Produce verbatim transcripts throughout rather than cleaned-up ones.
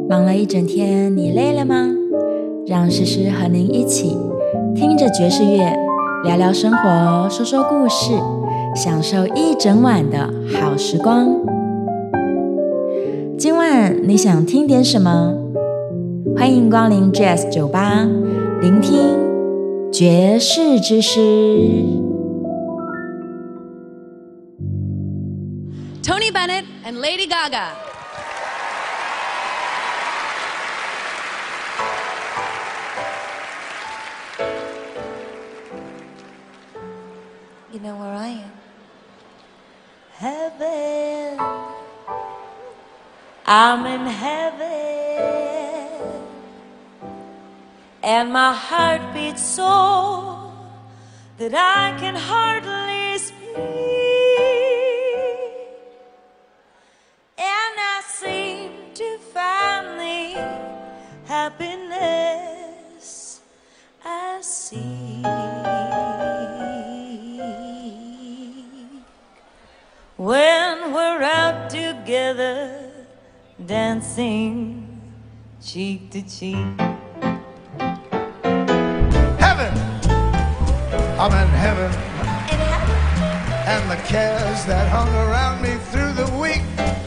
忙了一整天，你累了吗？让诗诗和您一起听着爵士乐，聊聊生活，说说故事，享受一整晚的好时光。今晚你想听点什么？欢迎光临 Jazz 酒吧，聆听爵士之诗。 Tony Bennett and Lady Gaga. You know where I am? Heaven. I'm in heaven. And my heart beats so that I can hardly speak. And I seem to find the happiness I seek. When we're out together, dancing cheek to cheek. Heaven! I'm in heaven. In heaven. And the cares that hung around me through the week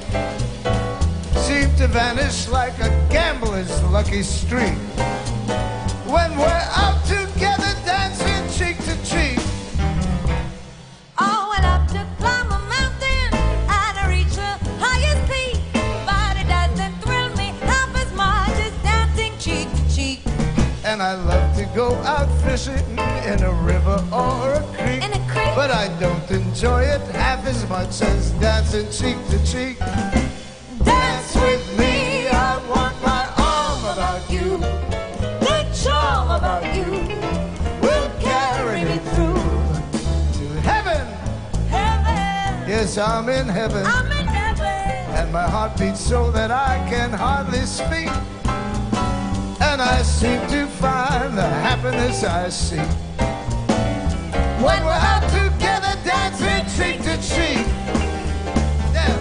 seem to vanish like a gambler's lucky streak. When we're out together, dancing cheek to cheek. Oh, went up to climb a mountain and I reach the highest peak, but it doesn't thrill me half as much as dancing cheek to cheek. And I love to go out fishing in a river or a creek, In a creek. but I don't enjoy it half as much as dancing cheek to cheek. Dance with me, I want my arm about you. The charm about you Will carry me through to heaven. heaven. Yes, I'm in heaven. I'm in heaven. And my heart beats so that I can hardly speak. And I seem to find the happiness I seek when we're out together, dancing cheek to cheek. Yeah.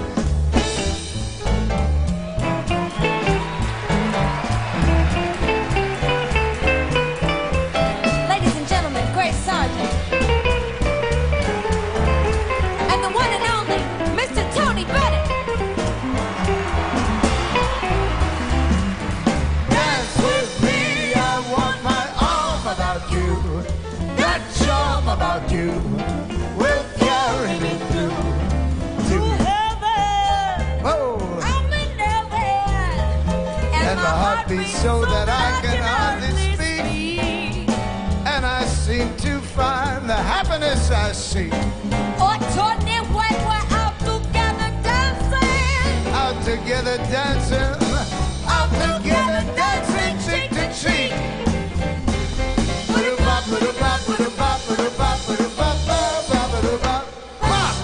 Ladies and gentlemen, Grace Sargent. And the one and only Mister Tony Bennett. Dance with me, I want my arm about you. That charm about you will carry me through To to heaven. oh. I'm in heaven. And my heart beats so that I can hardly speak. And I seem to find the happiness I seek Oh, Tony, when we're out together dancing. out together dancing, out together dancing cheek to cheek. Ba-da-bop, ba-da-bop, ba-da-bop, ba-da-bop, ba-da-bop, ba-da-bop, ba-da-bop. Pop!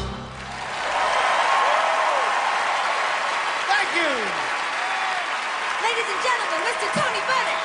Thank you. Ladies and gentlemen, Mister Tony Bennett.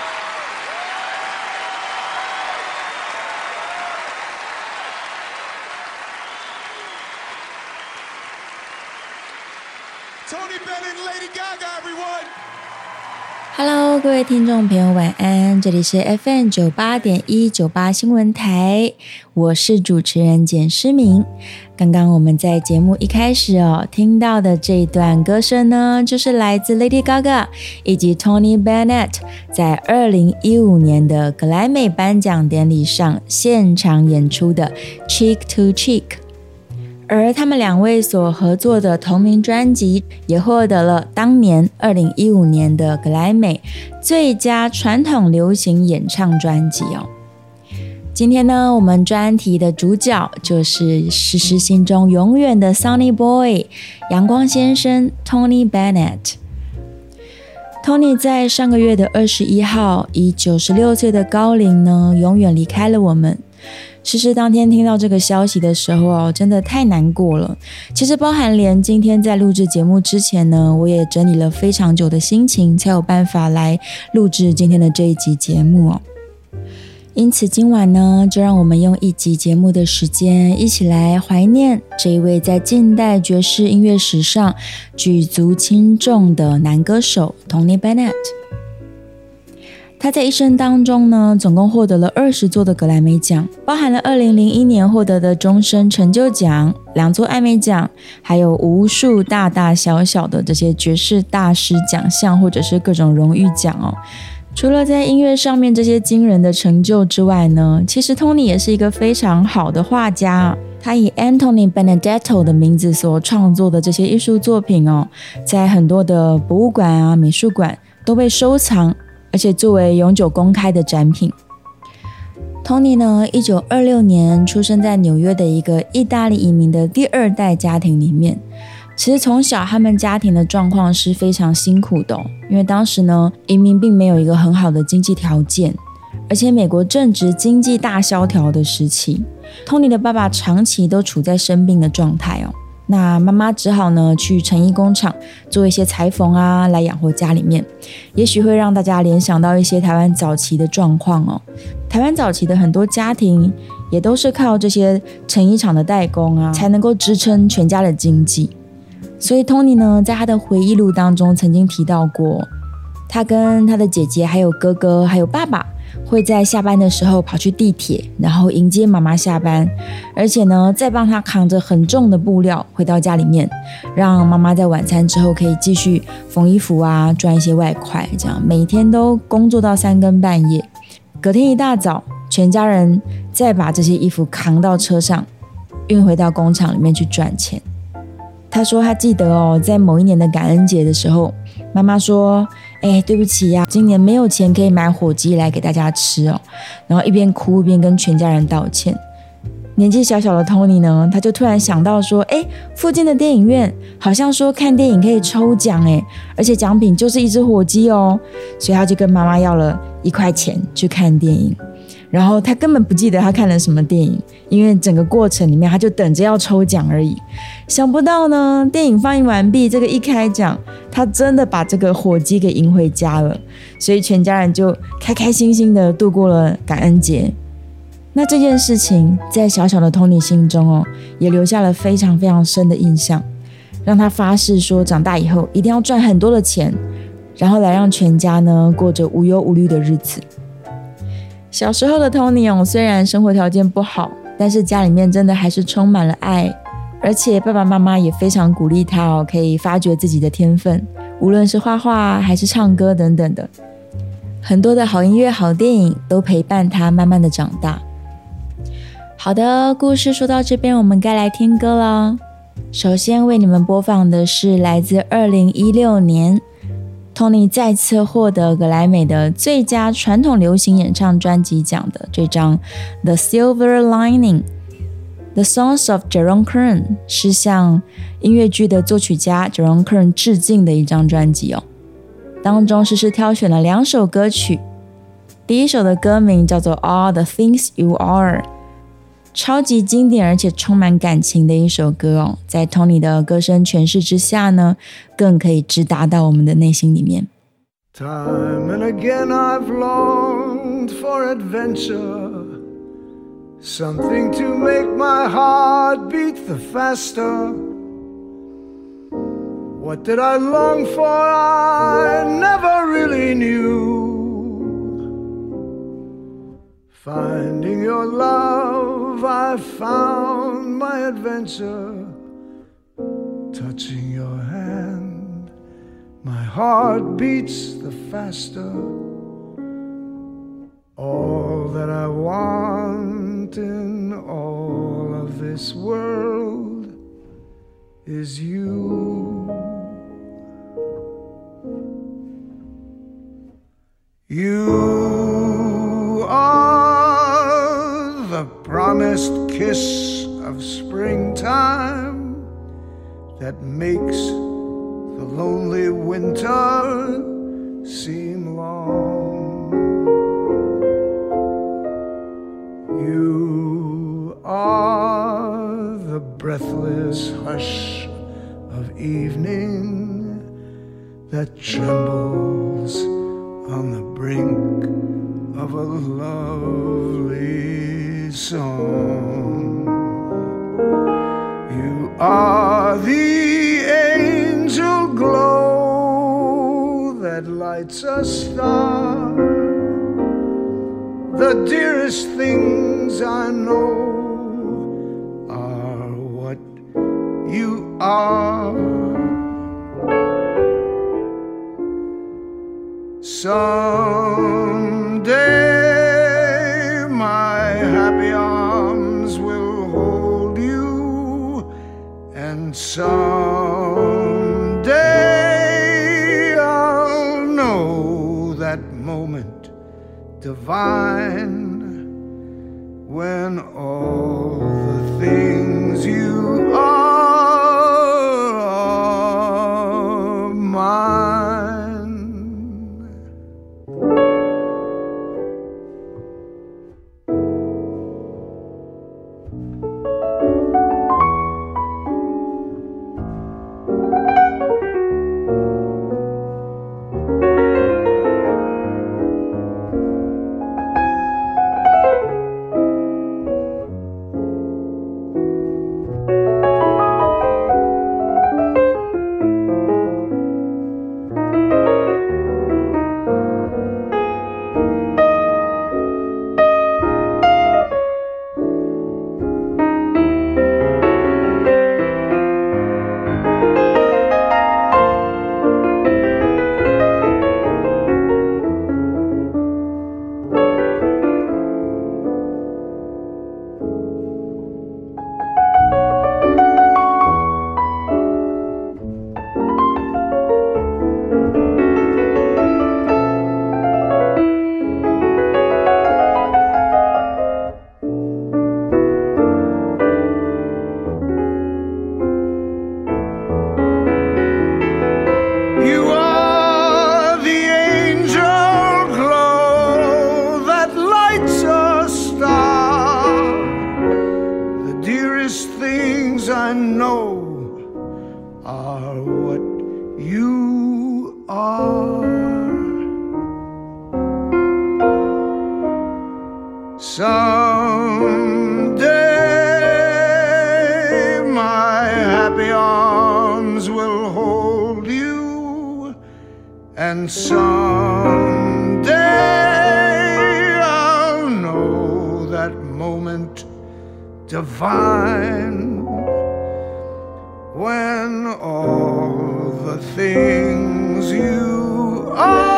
Tony Bennett and Lady Gaga, everyone. Hello， 各位听众朋友，晚安！这里是 F M 九八点一九八新闻台，我是主持人简诗明。刚刚我们在节目一开始哦听到的这一段歌声呢，就是来自 Lady Gaga 以及 Tony Bennett 在二零一五年的格莱美颁奖典礼上现场演出的 Cheek to Cheek。而他们两位所合作的同名专辑也获得了当年二零一五年的格莱美最佳传统流行演唱专辑哦。今天呢，我们专题的主角就是诗诗心中永远的 Sunny Boy 阳光先生 Tony Bennett。Tony 在上个月的二十一号以九十六岁的高龄呢，永远离开了我们。诗诗当天听到这个消息的时候哦，真的太难过了。其实包含连今天在录制节目之前呢，我也整理了非常久的心情，才有办法来录制今天的这一集节目哦。 因此今晚呢，就让我们用一集节目的时间，一起来怀念这一位在近代爵士音乐史上举足轻重的男歌手 Tony Bennett。他在一生当中呢，总共获得了二十座的格莱美奖，包含了二零零一年获得的终身成就奖、两座艾美奖，还有无数大大小小的这些爵士大师奖项或者是各种荣誉奖哦。除了在音乐上面这些惊人的成就之外呢，其实 Tony 也是一个非常好的画家。他以 Anthony Benedetto 的名字所创作的这些艺术作品哦，在很多的博物馆啊、美术馆都被收藏，而且作为永久公开的展品。Tony 呢，一九二六年出生在纽约的一个意大利移民的第二代家庭里面。其实从小他们家庭的状况是非常辛苦的哦，因为当时呢，移民并没有一个很好的经济条件，而且美国正值经济大萧条的时期。Tony 的爸爸长期都处在生病的状态哦，那妈妈只好呢去成衣工厂做一些裁缝啊，来养活家里面。也许会让大家联想到一些台湾早期的状况哦。台湾早期的很多家庭也都是靠这些成衣厂的代工啊，才能够支撑全家的经济。所以 Tony 呢，在他的回忆录当中曾经提到过，他跟他的姐姐还有哥哥还有爸爸会在下班的时候跑去地铁，然后迎接妈妈下班，而且呢再帮他扛着很重的布料回到家里面，让妈妈在晚餐之后可以继续缝衣服啊，赚一些外快，这样每天都工作到三更半夜。隔天一大早，全家人再把这些衣服扛到车上，运回到工厂里面去赚钱。他说他记得哦，在某一年的感恩节的时候，妈妈说，哎，对不起呀、啊，今年没有钱可以买火鸡来给大家吃哦。然后一边哭一边跟全家人道歉。年纪小小的 Tony 呢，他就突然想到说，哎，附近的电影院好像说看电影可以抽奖哎，而且奖品就是一只火鸡哦，所以他就跟妈妈要了一块钱去看电影。然后他根本不记得他看了什么电影，因为整个过程里面他就等着要抽奖而已。想不到呢，电影放映完毕，这个一开奖，他真的把这个火鸡给赢回家了，所以全家人就开开心心的度过了感恩节。那这件事情在小小的 Tony 心中哦，也留下了非常非常深的印象，让他发誓说长大以后一定要赚很多的钱，然后来让全家呢过着无忧无虑的日子。小时候的 Tony 哦，虽然生活条件不好，但是家里面真的还是充满了爱，而且爸爸妈妈也非常鼓励他哦，可以发掘自己的天分，无论是画画还是唱歌等等的。很多的好音乐、好电影都陪伴他慢慢的长大。好的，故事说到这边，我们该来听歌了。首先为你们播放的是来自二零一六年Tony 再次获得格莱美的最佳传统流行演唱专辑奖的这张 The Silver Lining The Songs of Jerome Kern， 是向音乐剧的作曲家 Jerome Kern 致敬的一张专辑哦。当中诗诗挑选了两首歌曲，第一首的歌名叫做 All the Things You Are， 超级经典而且充满感情的一首歌哦，在 Tony 的歌声诠释之下呢，更可以直达到我们的内心里面。 Time and again I've longed for adventure, something to make my heart beat the faster. What did I long for? I never really knew. Finding your love, I found my adventure. Touching your hand, my heart beats the faster. All that I want in all of this world is you. You are the promised kiss of springtime that makes the lonely winter seem long. You are the breathless hush of evening that trembles on the brink of a lovely song. You are the angel glow that lights a star, the dearest things I know are what you are. Someday my happy arms will hold you, and someday I'll know that moment divine when all the things you are are mine. Someday my happy arms will hold you, and someday I'll know that moment divine when all the things you are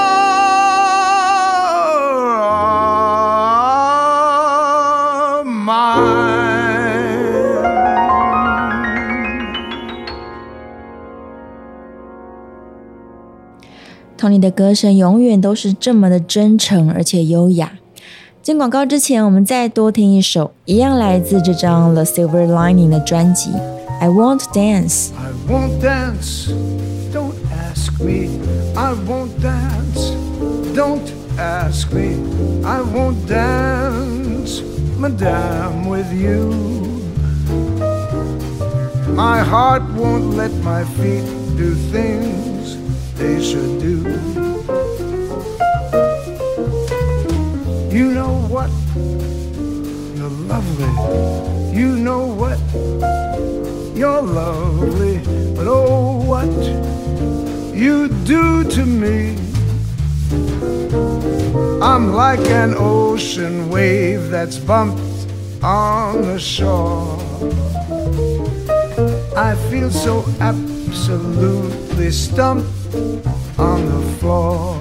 Tony 的歌声永远都是这么的真诚而且优雅。进广告之前，我们再多听一首，一样来自这张 The Silver Lining 的专辑 I Won't Dance。 I won't dance, don't ask me. I won't dance, don't ask me. I won't dance, madame, with you. My heart won't let my feet do things they should do. You know what? You're lovely. You know what? You're lovely. But oh, what you do to me. I'm like an ocean wave that's bumped on the shore. I feel so absolutely stumped on the floor.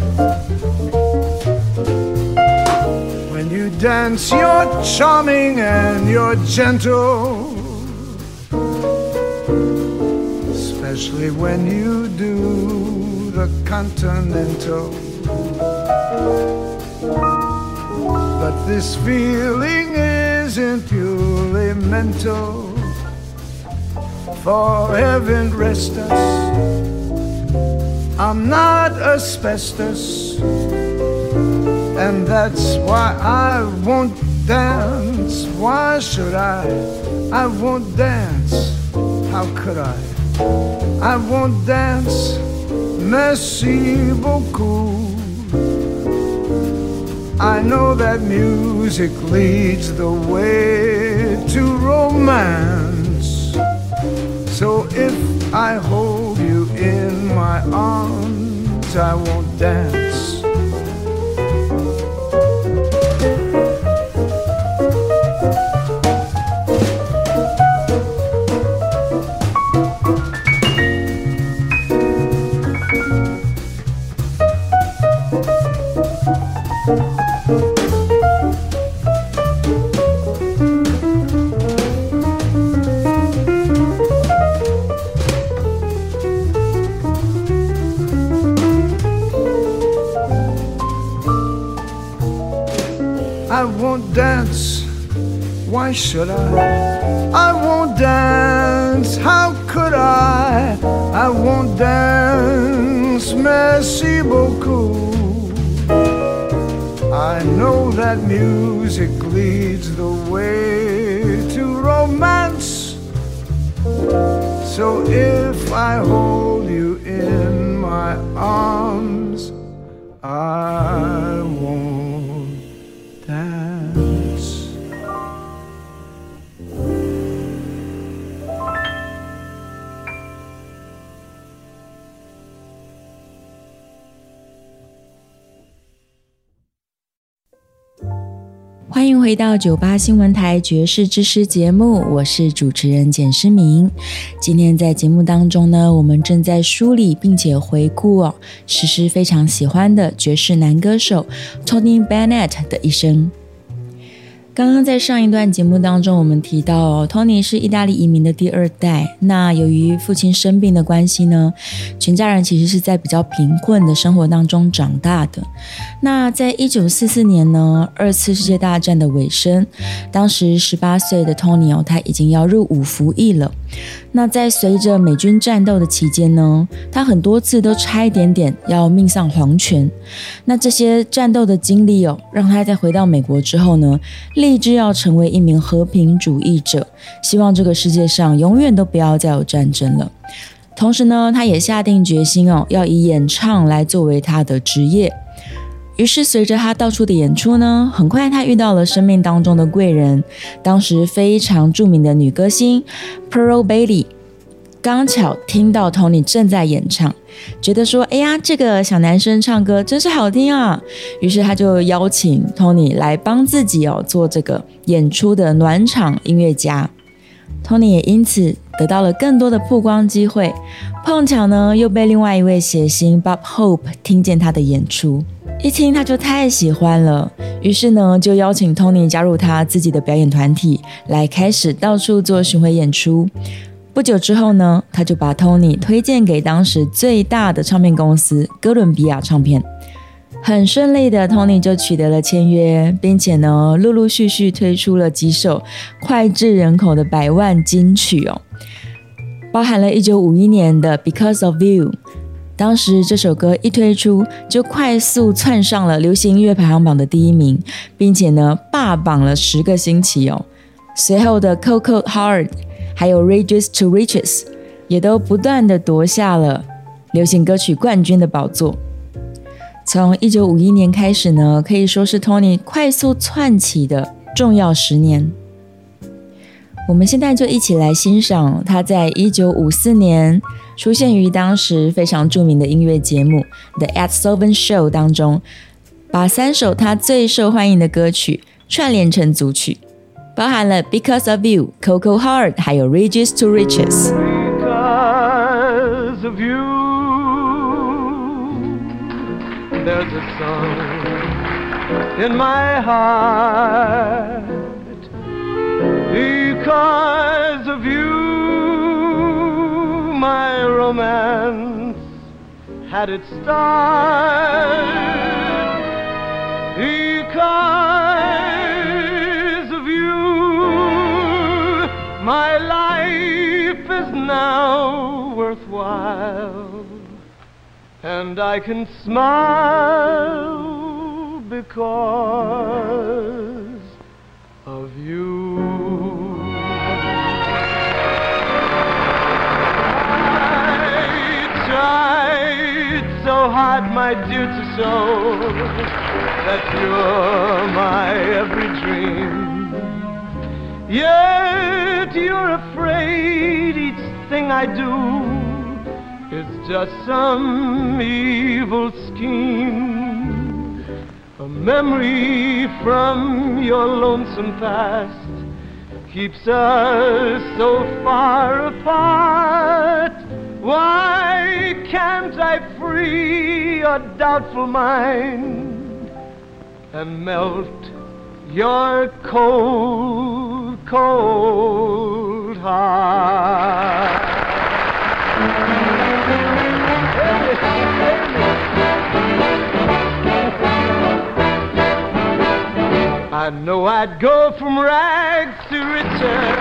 When you dance, you're charming and you're gentle, especially when you do the continental. But this feeling isn't purely mental. For heaven rest us, I'm not asbestos, and that's why I won't dance. Why should I? I won't dance. How could I? I won't dance. Merci beaucoup. I know that music leads the way to romance. So if I hold you in my arms, I won't dance. I won't dance, why should I? I won't dance, how could I? I won't dance, merci beaucoup. I know that music leads the way to romance. So if I hold you in my arms, I won't dance. 欢迎回到九八新闻台爵士之诗节目，我是主持人简诗明。今天在节目当中呢，我们正在梳理并且回顾哦，诗诗非常喜欢的爵士男歌手 Tony Bennett 的一生。刚刚在上一段节目当中，我们提到哦 Tony 是意大利移民的第二代。那由于父亲生病的关系呢，全家人其实是在比较贫困的生活当中长大的。那在一九四四年呢，二次世界大战的尾声，当时十八岁的 Tony 哦，他已经要入伍服役了。那在随着美军战斗的期间呢，他很多次都差一点点要命丧黄泉。那这些战斗的经历哦，让他在回到美国之后呢，立志要成为一名和平主义者，希望这个世界上永远都不要再有战争了。同时呢，他也下定决心哦，要以演唱来作为他的职业。于是随着他到处的演出呢，很快他遇到了生命当中的贵人，当时非常著名的女歌星 Pearl Bailey。刚巧听到 Tony 正在演唱，觉得说哎呀，这个小男生唱歌真是好听啊，于是他就邀请 Tony 来帮自己哦做这个演出的暖场音乐家。 Tony 也因此得到了更多的曝光机会，碰巧呢又被另外一位谐星 Bob Hope 听见他的演出，一听他就太喜欢了，于是呢就邀请 Tony 加入他自己的表演团体，来开始到处做巡回演出。不久之后呢，他就把 Tony 推荐给当时最大的唱片公司哥伦比亚唱片。很顺利的 Tony 就取得了签约，并且呢陆陆续续推出了几首脍炙人口的百万金曲哦，包含了一九五一年的 Because of You。 当时这首歌一推出就快速窜上了流行音乐排行榜的第一名，并且呢霸榜了十个星期哦。随后的 Cold Heart 还有 Rages to Riches 也都不断的夺下了流行歌曲冠军的宝座。从一九五一年开始呢，可以说是 Tony 快速窜起的重要十年。我们现在就一起来欣赏他在一九五四年出现于当时非常著名的音乐节目 The Ed Sullivan Show 当中，把三首他最受欢迎的歌曲串联成组曲，包含了 Because of You, Cold Heart 还有 Rages to Riches。 Because of you, there's a song in my heart. Because of you, my romance had its start. Because of you, my life is now worthwhile, and I can smile because of you. I tried so so hard, my dear, to show that you're my every dream. Yet you're afraid each thing I do is just some evil scheme. A memory from your lonesome past keeps us so far apart. Why can't I free your doubtful mind and melt your cold, cold heart? I know I'd go from rags to riches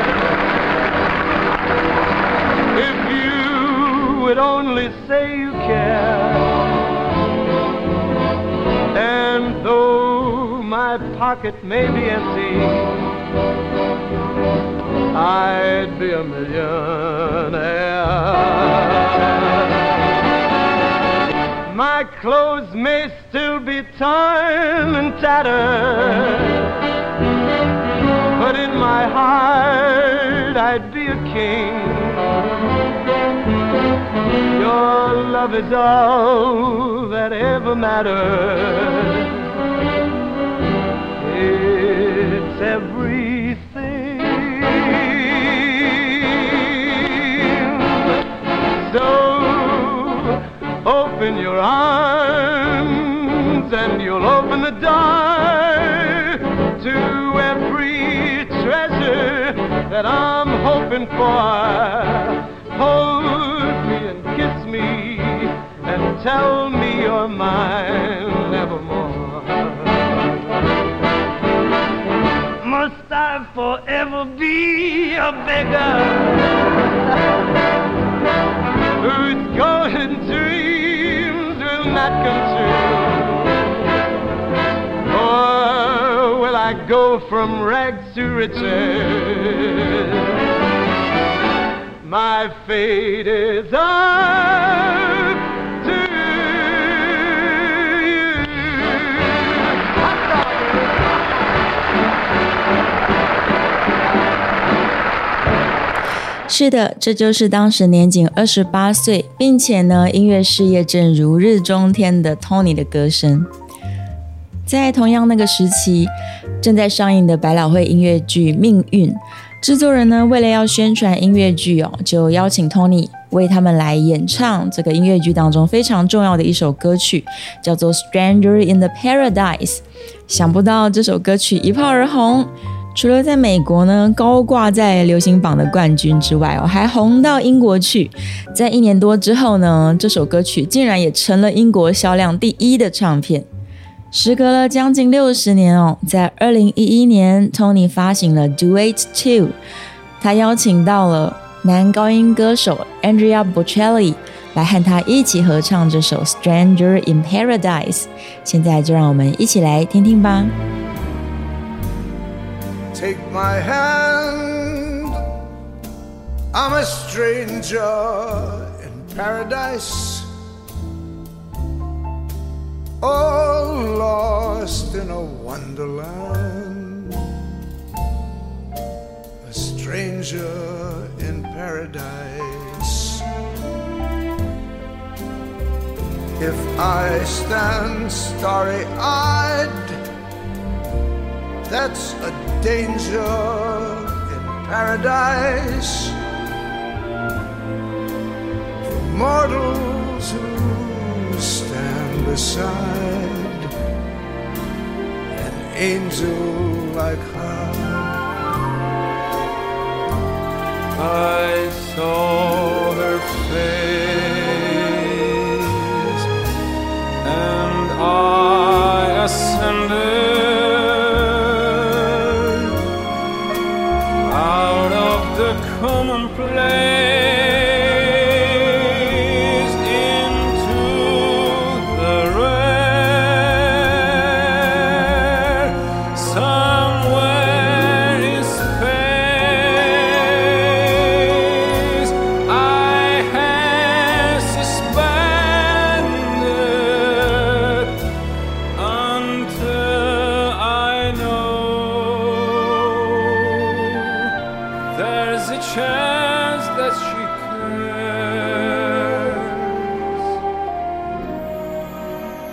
if you would only say you care. And though my pocket may be empty, I'd be a millionaire. My clothes may still be torn and tattered, but in my heart I'd be a king. Your love is all that ever matters. It's everything. So open your arms and you'll open the door to every treasure that I'm hoping for. Hold me and kiss me and tell me you're mine evermore. Must I forever be a beggar whose golden dreams will not come true? Or will I go from rags to riches? My fate is up to you. 是的，这就是当时年仅二十八岁，并且呢音乐事业正如日中天的 Tony 的歌声。在同样那个时期，正在上映的百老汇音乐剧《命运》，制作人呢为了要宣传音乐剧哦，就邀请 Tony 为他们来演唱这个音乐剧当中非常重要的一首歌曲，叫做《Stranger in the Paradise》。想不到这首歌曲一炮而红，除了在美国呢高挂在流行榜的冠军之外哦，还红到英国去。在一年多之后呢，这首歌曲竟然也成了英国销量第一的唱片。时隔了将近六十年哦，在二零一一年 Tony 发行了 Duet two， 他邀请到了男高音歌手 Andrea Bocelli 来和他一起合唱这首 Stranger in Paradise。 现在就让我们一起来听听吧。 Take my hand, I'm a stranger in paradise, all lost in a wonderland, a stranger in paradise. If I stand starry-eyed, that's a danger in paradise. For mortals who stand beside an angel like her. I saw her face and I ascended out of the commonplace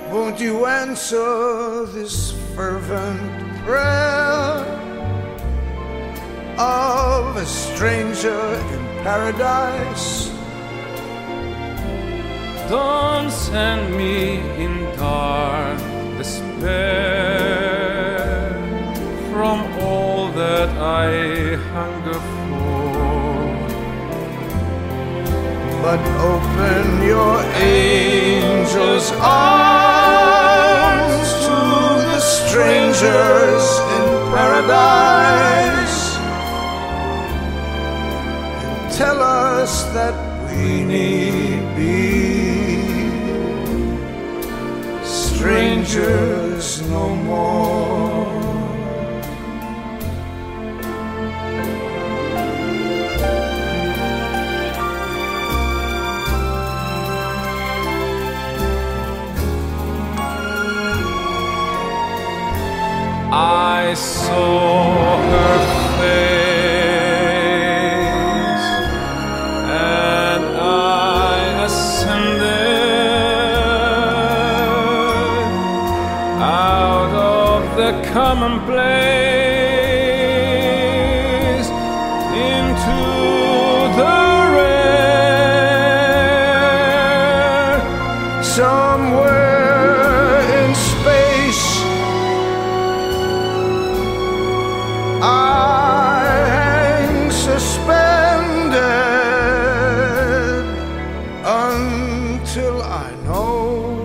Won't you answer this fervent prayer of a stranger in paradise? Don't send me in dark despair from all that I hunger for, but open your angel's arms to the strangers in paradise and tell us that we need be strangers no more. I saw her face and I ascended out of the commonplace into the rare. Somewhere in space I hang suspended until I know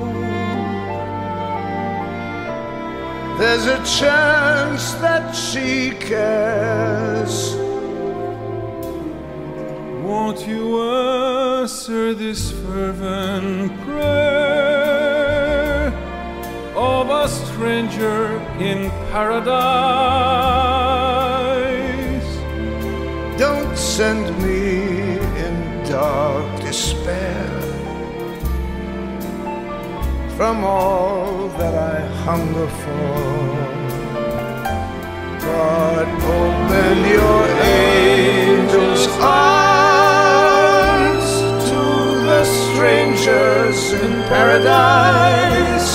there's a chance that she cares. Won't you answer this fervent prayer of a stranger in paradise? Don't send me in dark despair from all that I hunger for, but open your angel's arms to the strangers in paradise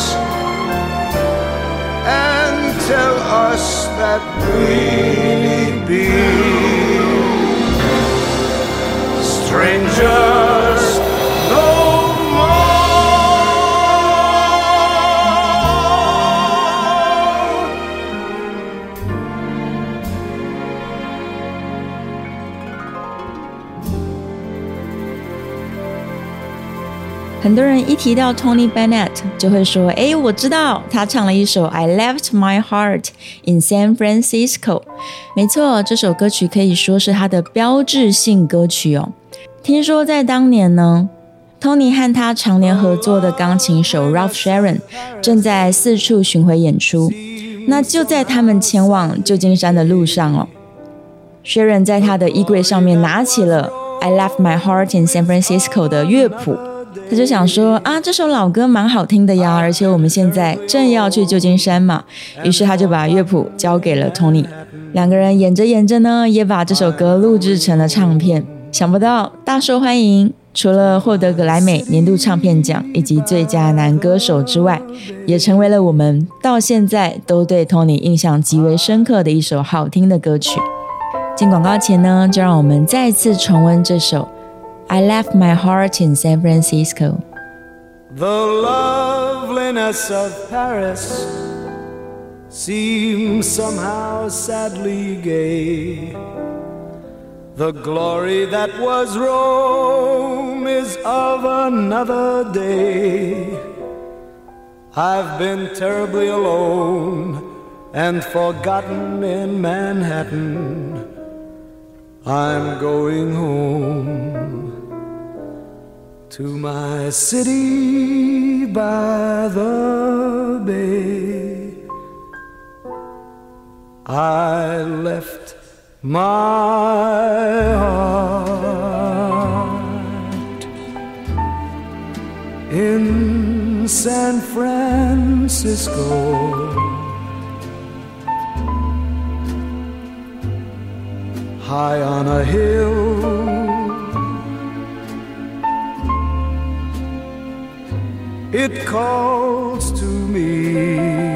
and tell us that we need be strangers no more. 很多人一提到 Tony Bennett 就会说，诶，我知道他唱了一首 I Left My Heart in San Francisco。 没错，这首歌曲可以说是他的标志性歌曲哦。听说在当年呢， Tony 和他常年合作的钢琴手 Ralph Sharon 正在四处巡回演出。那就在他们前往旧金山的路上哦， Sharon 在他的衣柜上面拿起了 I Left My Heart in San Francisco 的乐谱，他就想说啊，这首老歌蛮好听的呀，而且我们现在正要去旧金山嘛，于是他就把乐谱交给了 Tony。 两个人演着演着呢，也把这首歌录制成了唱片，想不到大受欢迎，除了获得格莱美年度唱片奖以及最佳男歌手之外，也成为了我们到现在都对 Tony 印象极为深刻的一首好听的歌曲。进广告前呢，就让我们再次重温这首I Left My Heart in San Francisco. The loveliness of Paris seems somehow sadly gay. The glory that was Rome is of another day. I've been terribly alone and forgotten in Manhattan. I'm going home to my city by the bay. I left my heart in San Francisco. High on a hill it calls to me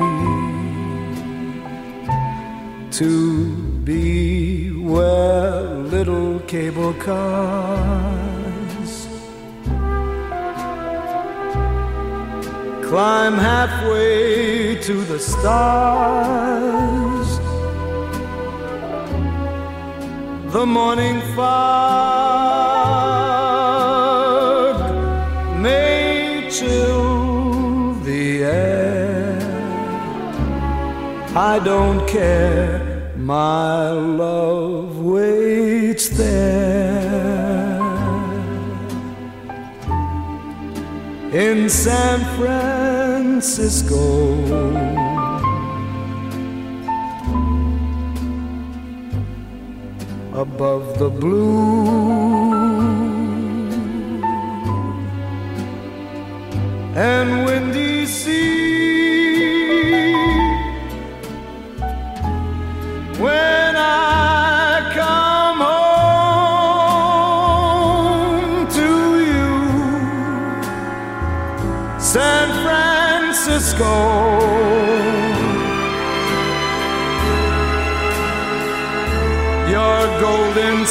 to be where little cable cars climb halfway to the stars. The morning fog may chill the air. I don't care, my love waits there. In San Francisco, above the blue and windy sea, when I come home to you, San Francisco, your golden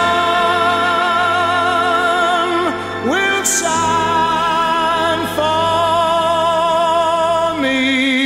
sun will shine for me.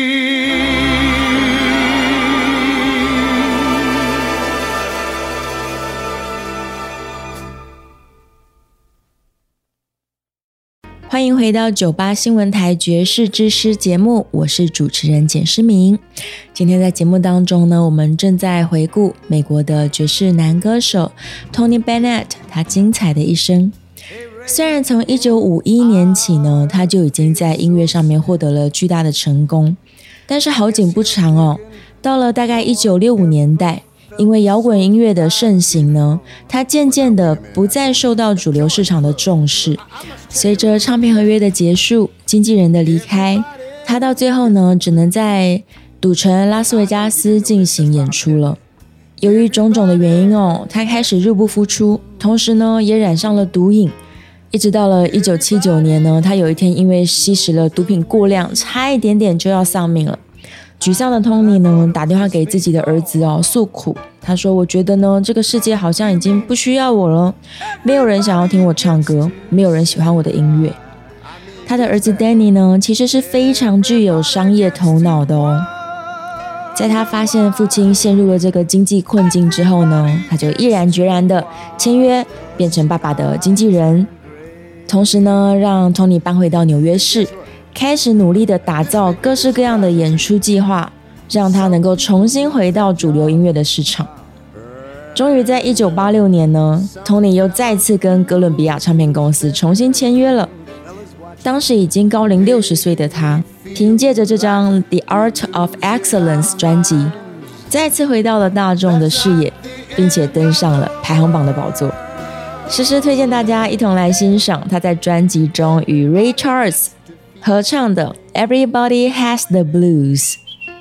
欢迎回到九八新闻台爵士之诗节目，我是主持人简诗明。今天在节目当中呢，我们正在回顾美国的爵士男歌手 Tony Bennett 他精彩的一生。虽然从一九五一年起呢，他就已经在音乐上面获得了巨大的成功，但是好景不长哦，到了大概一九六五年代，因为摇滚音乐的盛行呢，他渐渐的不再受到主流市场的重视。随着唱片合约的结束，经纪人的离开，他到最后呢，只能在赌城拉斯维加斯进行演出了。由于种种的原因哦，他开始入不敷出，同时呢，也染上了毒瘾。一直到了一九七九年呢，他有一天因为吸食了毒品过量，差一点点就要丧命了。沮丧的 Tony 呢，打电话给自己的儿子哦，诉苦。他说：“我觉得呢，这个世界好像已经不需要我了，没有人想要听我唱歌，没有人喜欢我的音乐。”他的儿子 Danny 呢，其实是非常具有商业头脑的哦。在他发现父亲陷入了这个经济困境之后呢，他就毅然决然的签约，变成爸爸的经纪人。同时呢，让 Tony 搬回到纽约市，开始努力的打造各式各样的演出计划，让他能够重新回到主流音乐的市场。终于在一九八六年呢 Tony 又再次跟哥伦比亚唱片公司重新签约了。当时已经高龄六十岁的他，凭借着这张 The Art of Excellence 专辑，再次回到了大众的视野，并且登上了排行榜的宝座。实时推荐大家一同来欣赏他在专辑中与 Ray Charles 合唱的 Everybody Has the Blues。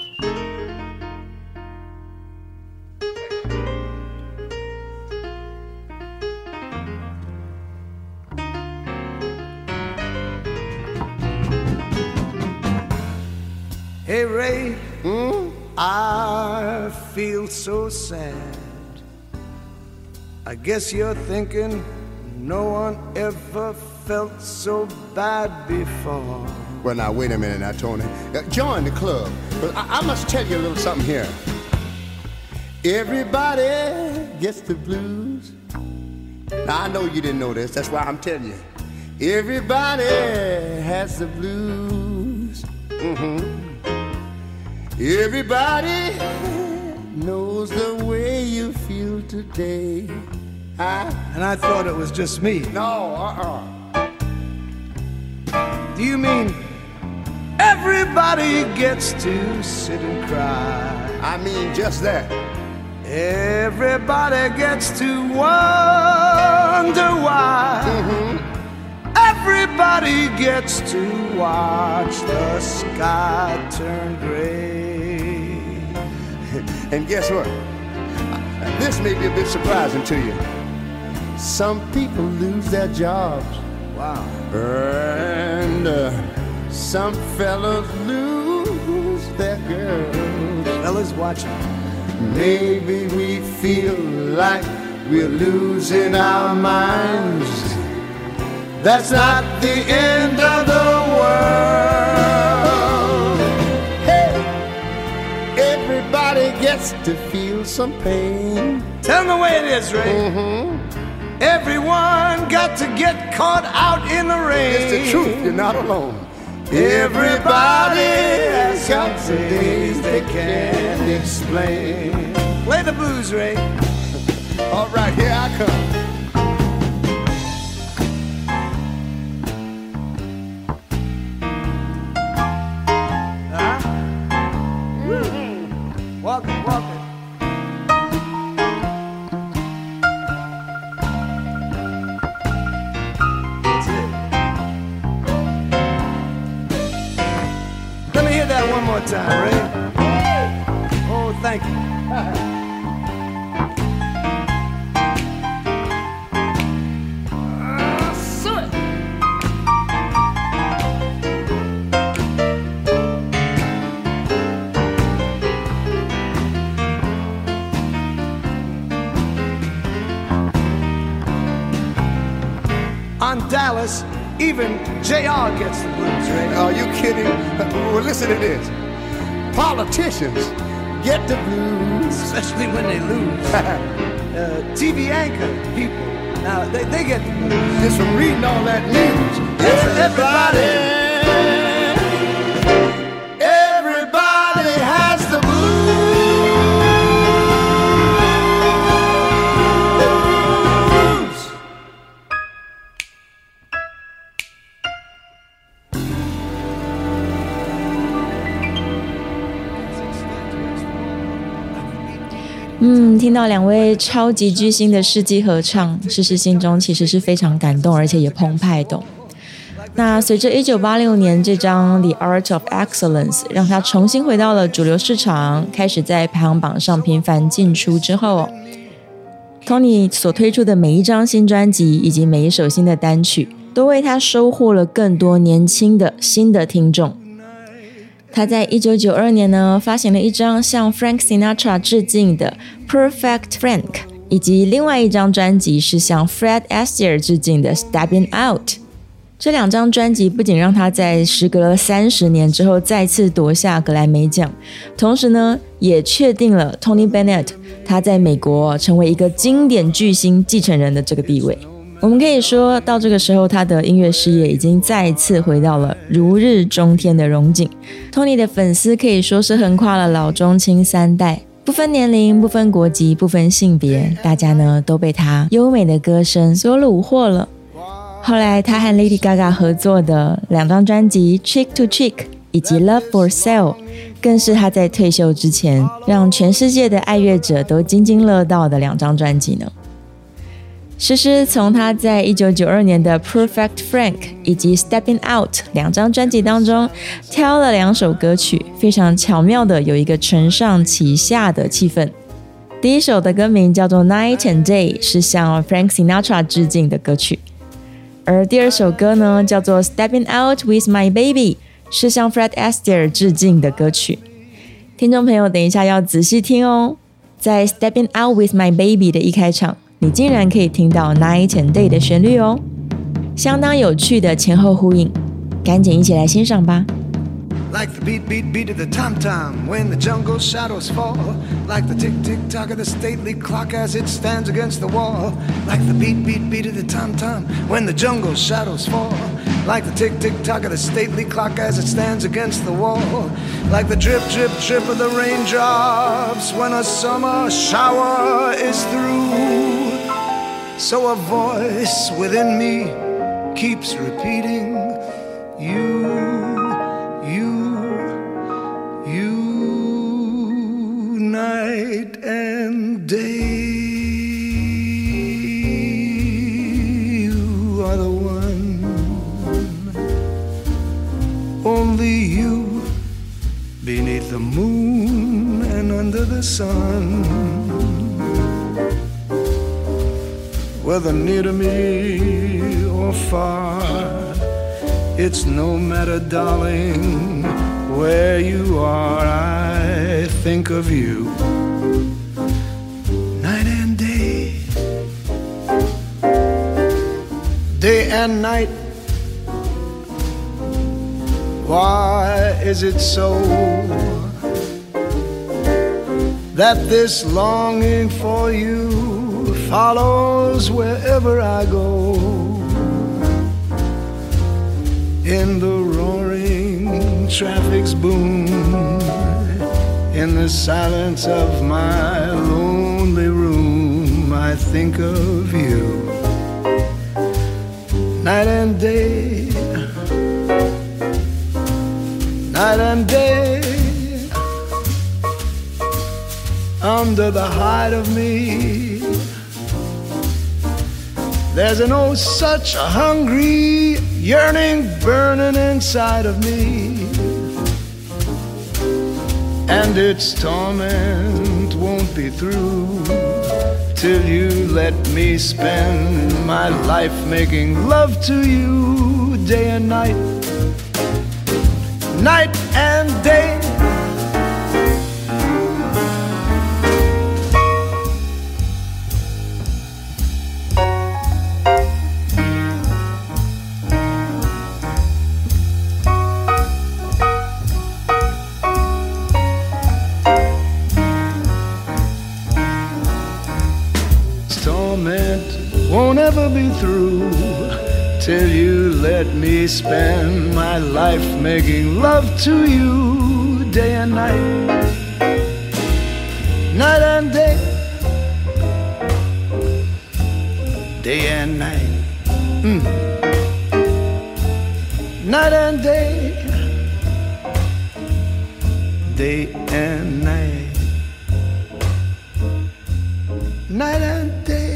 Hey Ray, hmm? I feel so sad. I guess you're thinking no one ever felt so bad before. Well, now, wait a minute now, Tony. Uh, join the club. But I, I must tell you a little something here. Everybody gets the blues. Now, I know you didn't know this. That's why I'm telling you. Everybody has the blues. Mm-hmm. Everybody knows the way you feel today. I, And I thought it was just me. no, uh-uh. Do you mean everybody gets to sit and cry? I mean just that. Everybody gets to wonder why. Mm-hmm. Everybody gets to watch the sky turn gray. And guess what? This may be a bit surprising to you. Some people lose their jobs. Wow. And uh, Some fellas lose their girls. Fellas watching. Maybe we feel like we're losing our minds. That's not the end of the world. Hey, everybody gets to feel some pain. Tell them the way it is, Ray. Mm-hmm. Everyone got to get caught out in the rain. It's the truth, you're not alone. Everybody has got some days they can't explain. Play the blues, Ray. All right, here I come. Uh-huh. Mm-hmm. Walk it, walk it. That's it. Let me hear that one more time, Ray. Oh, thank you. On Dallas, even J R gets the blues, Ray. Are you kidding? Well, listen to this. Politicians get the blues. Especially when they lose. uh, T V anchor people, now they, they get the blues. Just from reading all that news. Everybody, everybody has the blues. 嗯，听到两位超级巨星的世纪合唱，诗诗心中其实是非常感动，而且也澎湃的。那随着一九八六年这张《The Art of Excellence》让他重新回到了主流市场，开始在排行榜上频繁进出之后 ，Tony 所推出的每一张新专辑以及每一首新的单曲，都为他收获了更多年轻的新的听众。他在一九九二年呢发行了一张向 Frank Sinatra 致敬的 Perfect Frank， 以及另外一张专辑是向 Fred Astaire 致敬的 Stepping Out。 这两张专辑不仅让他在时隔了三十年之后再次夺下格莱美奖，同时呢也确定了 Tony Bennett 他在美国成为一个经典巨星继承人的这个地位。我们可以说到这个时候，他的音乐事业已经再次回到了如日中天的荣景。 Tony 的粉丝可以说是横跨了老中青三代，不分年龄，不分国籍，不分性别，大家呢都被他优美的歌声所虏获了。后来他和 Lady Gaga 合作的两张专辑 Cheek to Cheek 以及 Love for Sale 更是他在退休之前让全世界的爱乐者都津津乐道的两张专辑呢。诗诗从他在一九九二年的 Perfect Frank 以及 Stepping Out 两张专辑当中挑了两首歌曲，非常巧妙的有一个承上启下的气氛。第一首的歌名叫做 Night and Day， 是向 Frank Sinatra 致敬的歌曲，而第二首歌呢叫做 Stepping Out with My Baby， 是向 Fred Astaire 致敬的歌曲。听众朋友等一下要仔细听哦，在 Stepping Out with My Baby 的一开场，你竟然可以听到 Night and Day 的旋律哦，相当有趣的前后呼应，赶紧一起来欣赏吧。 Like the beat, beat, beat of the tom-tom when the jungle shadows fall. Like the tick-tick-tock of the stately clock as it stands against the wall. Like the beat, beat, beat of the tom-tom when the jungle shadows fall. Like the tick-tick-tock of the stately clock as it stands against the wall. Like the drip, drip, drip of the raindrops when a summer shower is through. So a voice within me keeps repeating, you.You, and day, you are the one, only you, beneath the moon and under the sun, whether near to me or far, It's no matter, darling, where you are, I think of you. Night and day, day and night. Why is it so that this longing for you follows wherever I go? In the roaring traffic's boom, in the silence of my lonely room, I think of you. Night and day, night and day, under the hide of me, there's an oh such a hungry yearning burning inside of me, and its torment won't be through till you let me spend my life making love to you day and night, night and day. Won't ever be through till you let me spend my life making love to you day and night, night and day, day and night, mm. Night and day, day and night, night and day,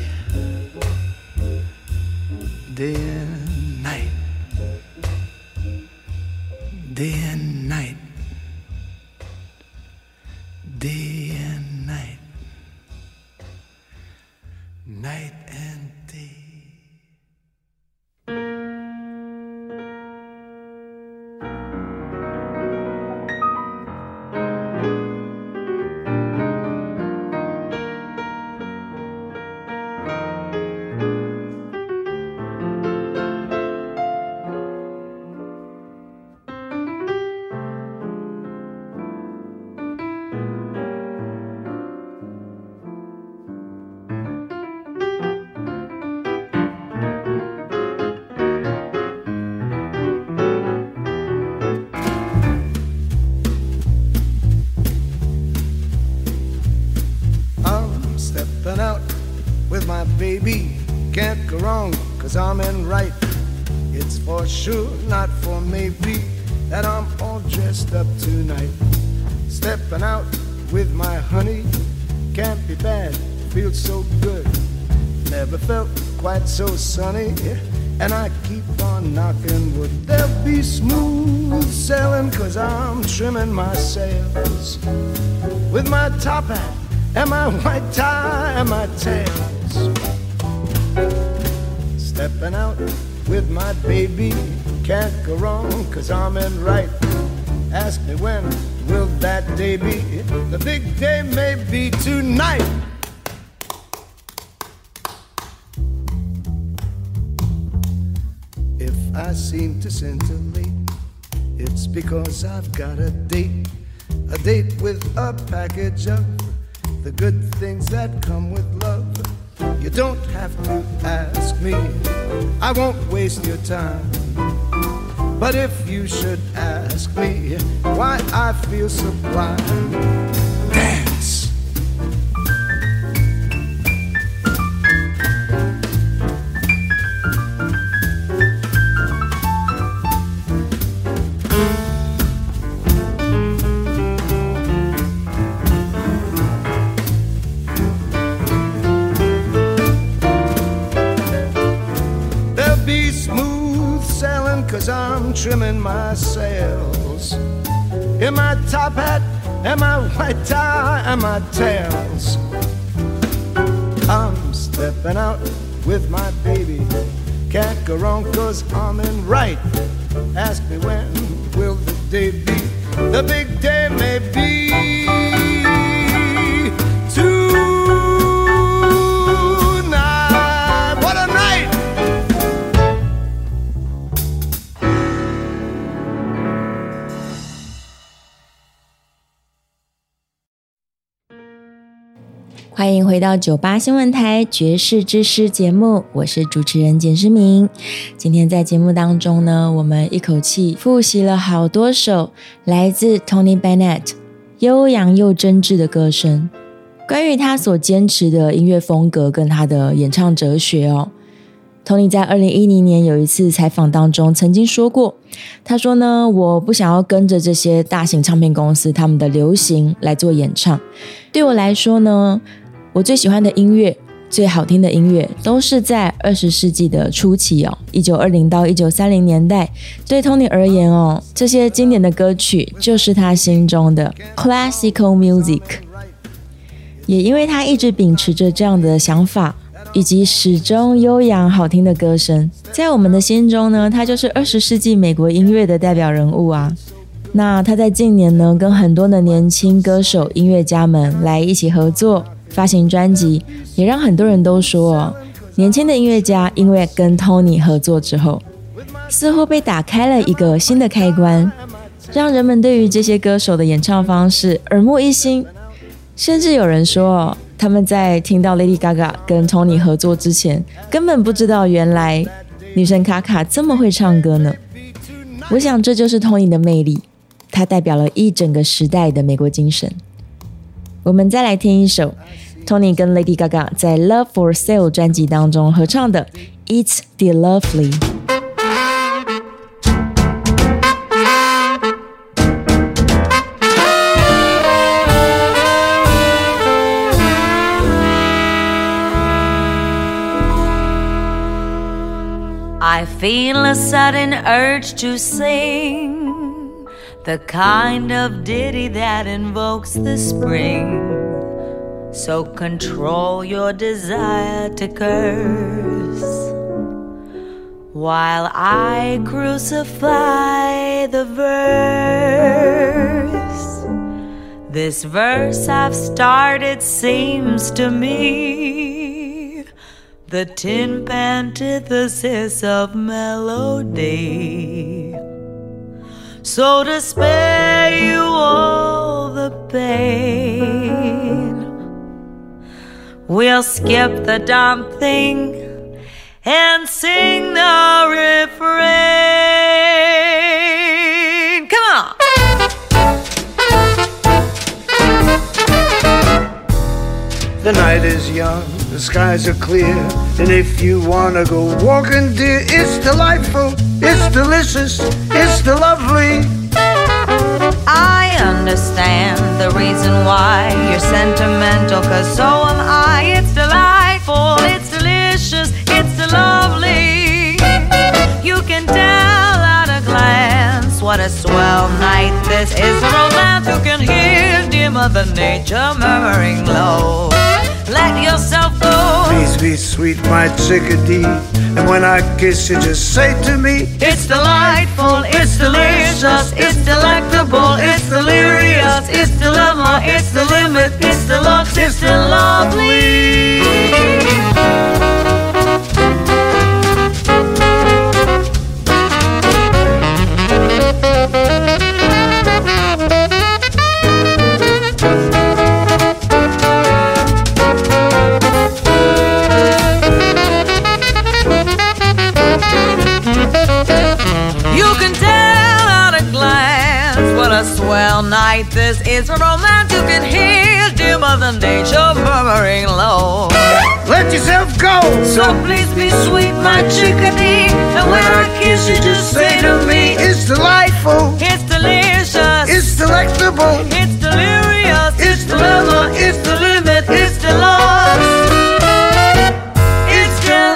day and night, day and night, day and night, night and day. Baby, can't go wrong, cause I'm in right. It's for sure, not for maybe, that I'm all dressed up tonight. Stepping out with my honey, can't be bad, feels so good. Never felt quite so sunny, and I keep on knocking wood. There'll be smooth sailing, cause I'm trimming my sails with my top hat and my white tie and my tails. Stepping out with my baby, can't go wrong, cause I'm in right. Ask me when will that day be? The big day may be tonight. If I seem to scintillate, it's because I've got a date. A date with a package of the good things that come with love. You don't have to ask me, I won't waste your time. But if you should ask me why I feel sublime, dance. Cause I'm trimming my sails in my top hat and my white tie and my tails. I'm stepping out with my baby, Can't go wrong cause I'm in right. Ask me when will the day be? The big day may be tonight. What a night! 欢迎回到九八新闻台爵士之诗节目，我是主持人简诗明。今天在节目当中呢，我们一口气复习了好多首来自 Tony Bennett 悠扬又真挚的歌声。关于他所坚持的音乐风格跟他的演唱哲学哦， Tony 在二零一零年有一次采访当中曾经说过，他说呢，我不想要跟着这些大型唱片公司他们的流行来做演唱，对我来说呢，我最喜欢的音乐，最好听的音乐都是在二十世纪的初期哦，一九二零到一九三零年代。对 Tony 而言哦，这些经典的歌曲就是他心中的 classical music。也因为他一直秉持着这样的想法，以及始终悠扬好听的歌声，在我们的心中呢，他就是二十世纪美国音乐的代表人物啊。那他在近年呢，跟很多的年轻歌手、音乐家们来一起合作。发行专辑也让很多人都说哦，年轻的音乐家因为跟 Tony 合作之后，似乎被打开了一个新的开关，让人们对于这些歌手的演唱方式耳目一新。甚至有人说哦，他们在听到 Lady Gaga 跟 Tony 合作之前，根本不知道原来女神卡卡这么会唱歌呢。我想这就是 Tony 的魅力，他代表了一整个时代的美国精神。我们再来听一首 Tony 跟 Lady Gaga 在 Love for Sale 专辑当中合唱的 It's the Lovely。 I feel a sudden urge to sing the kind of ditty that invokes the spring. So control your desire to curse while I crucify the verse. This verse I've started seems to me the tin antithesis of melody. So to spare you all the pain, we'll skip the dumb thing and sing the refrain. Come on! The night is young, the skies are clear, and if you wanna go walking, dear, it's delightful, it's delicious, it's the lovely. I understand the reason why you're sentimental, 'cause so am I. It's delightful, it's delicious, it's the lovely. You can tell at a glance what a swell night this is. A romance you can hear dear Mother Nature murmuring low. Let yourself go. Please be sweet, my chickadee, and when I kiss you, just say to me, It's delightful, it's delicious, it's delectable, it's delirious, it's dilemma, it's the limit, it's the lux, it's the lovely. Swell night this is, a romance you can hear dear Mother Nature murmuring low. let yourself go. So please be sweet, my chickadee, and when I kiss you, just say to me, It's delightful, it's delicious, it's delectable, it's delirious, it's dilemma, it's the limit, it's the loss, it's the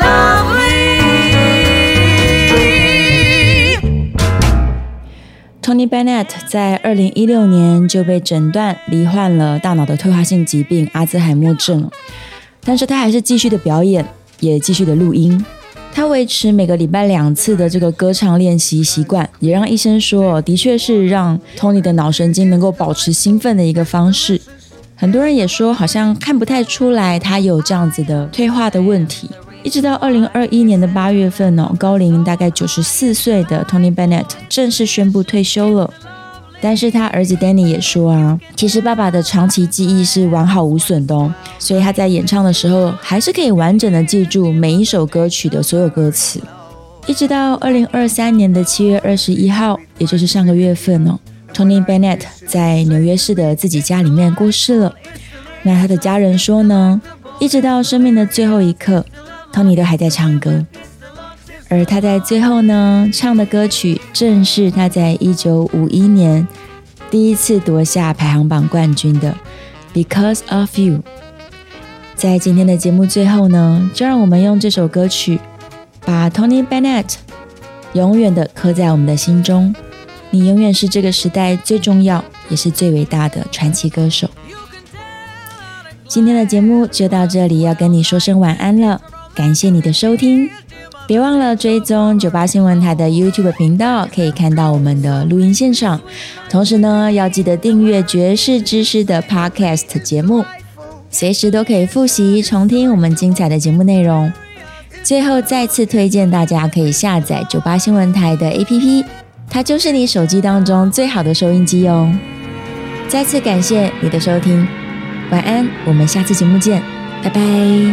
lovely。Tony Bennett 在二零一六年就被诊断罹患了大脑的退化性疾病阿兹海默症，但是他还是继续的表演，也继续的录音。 他维持每个礼拜两次的这个歌唱练习习惯，也让医生说，的确是让 Tony 的脑神经能够保持兴奋的一个方式。很多人也说，好像看不太出来他有这样子的退化的问题。一直到二零二一年的八月份哦，高龄大概九十四岁的 Tony Bennett 正式宣布退休了。但是他儿子 Danny 也说啊，其实爸爸的长期记忆是完好无损的哦，所以他在演唱的时候还是可以完整的记住每一首歌曲的所有歌词。一直到二零二三年的七月二十一号，也就是上个月份哦， Tony Bennett 在纽约市的自己家里面过世了。那他的家人说呢，一直到生命的最后一刻， Tony 都还在唱歌。而他在最后呢唱的歌曲，正是他在一九五一年第一次夺下排行榜冠军的 Because of You。 在今天的节目最后呢，就让我们用这首歌曲把 Tony Bennett 永远的刻在我们的心中。你永远是这个时代最重要也是最伟大的传奇歌手。今天的节目就到这里，要跟你说声晚安了，感谢你的收听。别忘了追踪九八新闻台的 YouTube 频道，可以看到我们的录音现场。同时呢，要记得订阅爵士知识的 Podcast 节目，随时都可以复习重听我们精彩的节目内容。最后再次推荐大家可以下载九八新闻台的 A P P， 它就是你手机当中最好的收音机哦。再次感谢你的收听，晚安，我们下次节目见，拜拜。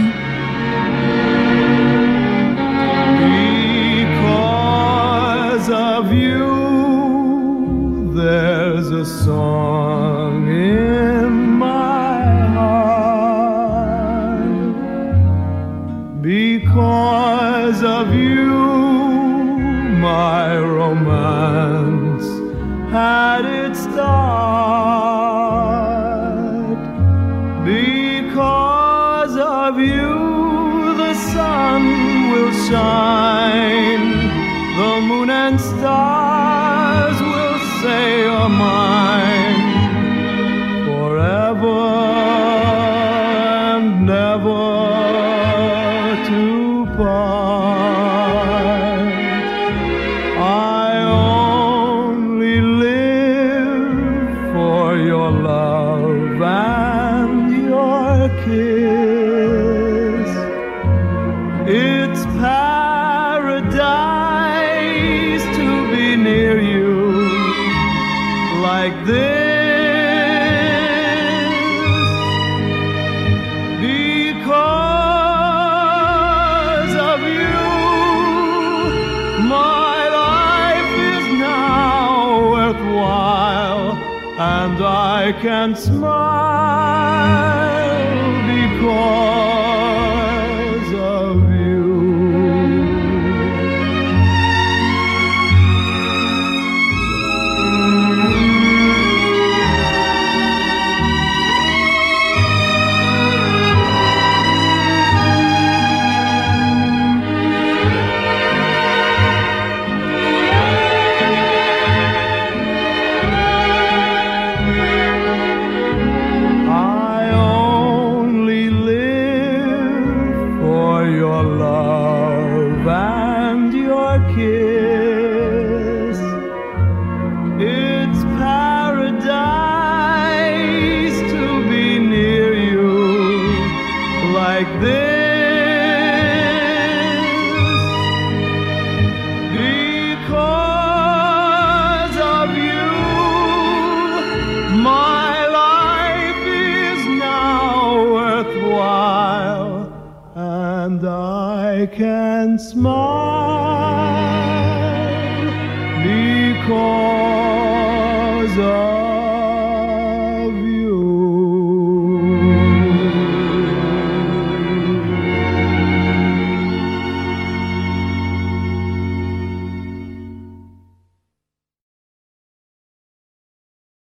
Of you, there's a song in my heart. Because of you, my romance had its start. Because of you, the sun will shine, the moon and stars will say you're mine forever and never to part. I only live for your love and your kiss. It's paradise near you like this. Because of you, my life is now worthwhile, and I can smile because of you. I can smile because of